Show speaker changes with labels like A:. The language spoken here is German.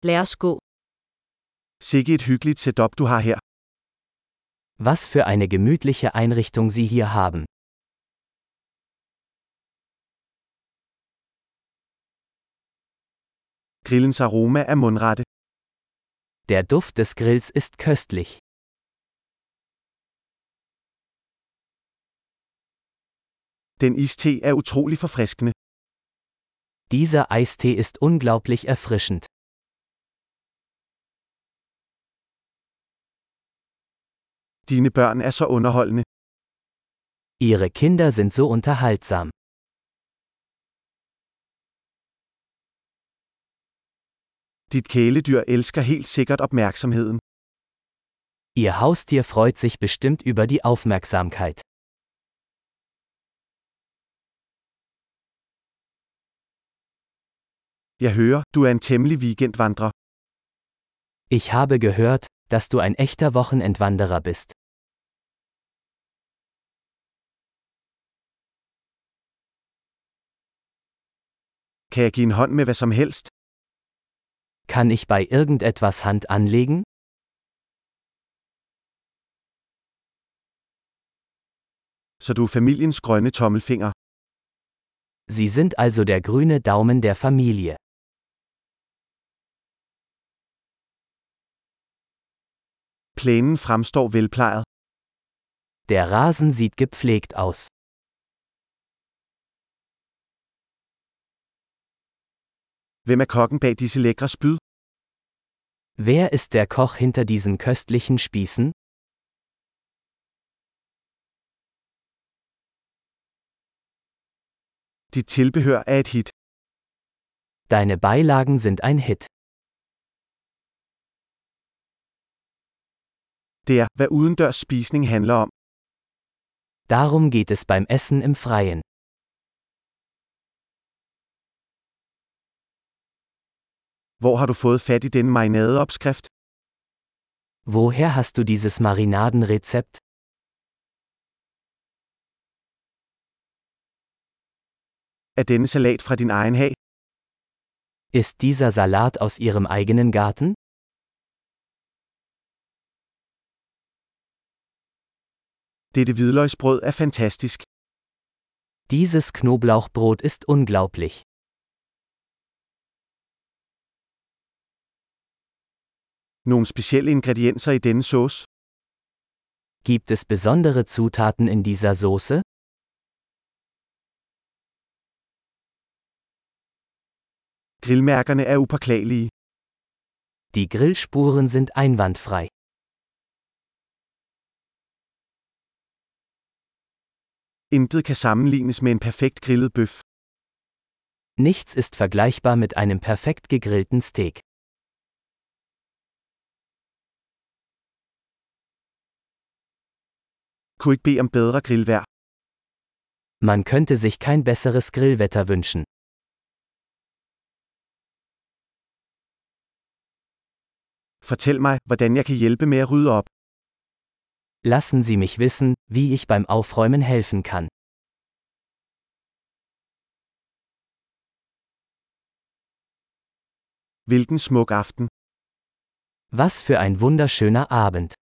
A: Lad os gå.
B: Sikke et hyggeligt setup du har her.
C: Was für eine gemütliche Einrichtung Sie hier haben.
B: Grillens aroma er mundrette.
C: Der Duft des Grills ist köstlich.
B: Den iste er utrolig forfriskende.
C: Dieser Eistee ist unglaublich erfrischend.
B: Dine børn er så underholdende.
C: Ihre Kinder sind so unterhaltsam.
B: Dit kæledyr elsker helt sikkert opmærksomheden.
C: Ihr Haustier freut sich bestimmt über die Aufmerksamkeit.
B: Jeg hører, du er en temmelig weekendvandrer.
C: Ich habe gehört, dass du ein echter Wochenendwanderer bist.
B: Kan jeg give en hånd med hvad som helst?
C: Kann ich bei irgendetwas Hand anlegen?
B: Så du er familiens grønne tommelfinger.
C: Sie sind also der grüne Daumen der Familie.
B: Plænen fremstår velplejet.
C: Der Rasen sieht gepflegt aus.
B: Hvem er kokken bag disse lækre spyd?
C: Wer ist der Koch hinter diesen köstlichen Spießen?
B: Dit tilbehør er et hit.
C: Deine Beilagen sind ein Hit.
B: Det er, hvad udendørs spisning handler om.
C: Darum geht es beim Essen im Freien.
B: Hvor har du fået fat i denne marinadeopskrift?
C: Woher hast du dieses Marinadenrezept?
B: Er denne salat fra din egen hag?
C: Ist dieser Salat aus Ihrem eigenen Garten?
B: Dette hvidløgsbrød er fantastisk.
C: Dieses Knoblauchbrot ist unglaublich.
B: Nogle specielle ingredienser i denne sauce?
C: Gibt es besondere Zutaten in dieser Soße?
B: Grillmærkerne er upåklagelige.
C: Die Grillspuren sind einwandfrei.
B: Intet kan sammenlignes med en perfekt grillet bøf.
C: Nichts ist vergleichbar mit einem perfekt gegrillten Steak.
B: Kunne ikke bede om bedre grillvejr.
C: Man könnte sich kein besseres Grillwetter wünschen.
B: Fortæl mig, hvordan jeg kan hjælpe med at rydde op.
C: Lassen Sie mich wissen, wie ich beim Aufräumen helfen kann.
B: Hvilken smuk aften.
C: Was für ein wunderschöner Abend.